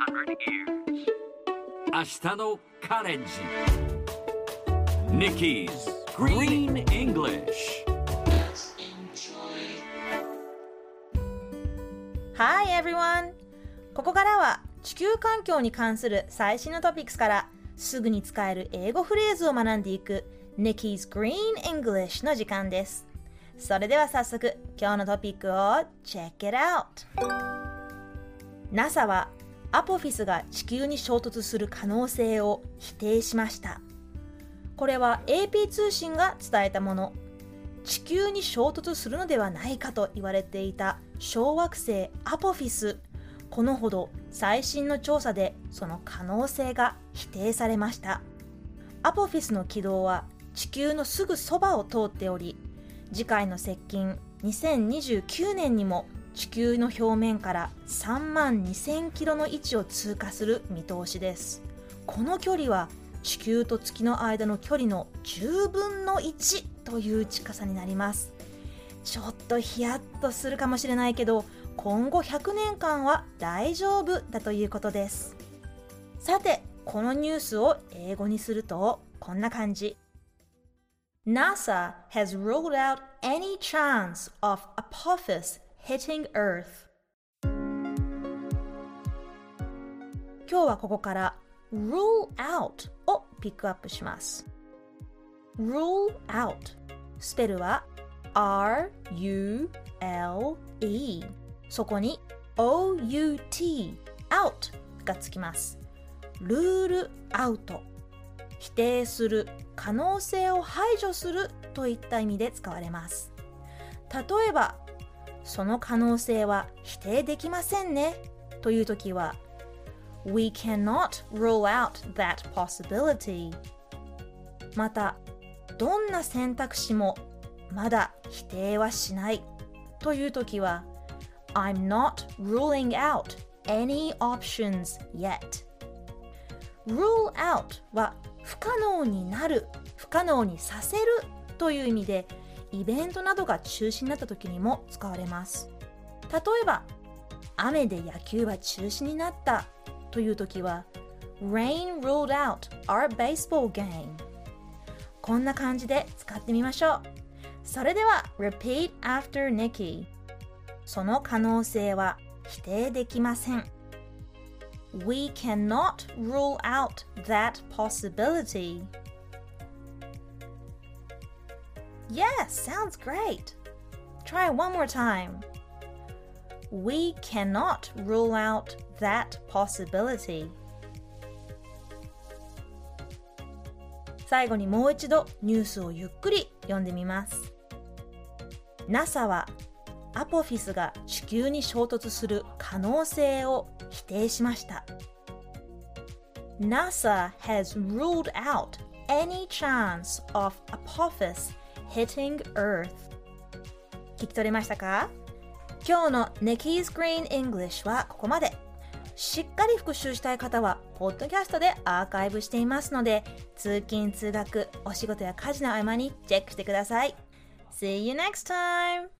明日のカレンジ Nikki's Green English Hi everyone! ここからは地球環境に関する最新のトピックスからすぐに使える英語フレーズを学んでいく Nikki's Green English の時間です。それでは早速今日のトピックを Check it out!NASA はアポフィスが地球に衝突する可能性を否定しました。これは AP 通信が伝えたもの。地球に衝突するのではないかと言われていた小惑星アポフィス。このほど最新の調査でその可能性が否定されました。アポフィスの軌道は地球のすぐそばを通っており、次回の接近2029年にも地球の表面から3万2000キロの位置を通過する見通しです。この距離は地球と月の間の距離の10分の1という近さになります。ちょっとヒヤッとするかもしれないけど、今後100年間は大丈夫だということです。さて、このニュースを英語にするとこんな感じ。NASA has ruled out any chance of Apophis hitting Earth. 今日はここから rule out をピックアップします。rule out スペルは R-U-L-E そこに O-U-T out がつきます。ルールアウト、否定する、可能性を排除するといった意味で使われます。例えばその可能性は否定できませんねというときは We cannot rule out that possibility。 またどんな選択肢もまだ否定はしないというときは I'm not ruling out any options yet。 rule out は不可能になる、不可能にさせるという意味でイベントなどが中止になった時にも使われます。例えば、雨で野球は中止になったという時は Rain ruled out our baseball game。 こんな感じで使ってみましょう。それでは Repeat after Nikki。 その可能性は否定できません。 We cannot rule out that possibility。Yes, sounds great. Try one more time. We cannot rule out that possibility. 最後にもう一度ニュースをゆっくり読んでみます。NASA はアポフィスが地球に衝突する可能性を否定しました。NASA has ruled out any chance of Apophis hitting Earth。 聞き取れましたか？今日の Nikki's Green English はここまで。しっかり復習したい方はポッドキャストでアーカイブしていますので、通勤通学、お仕事や家事の合間にチェックしてください。See you next time!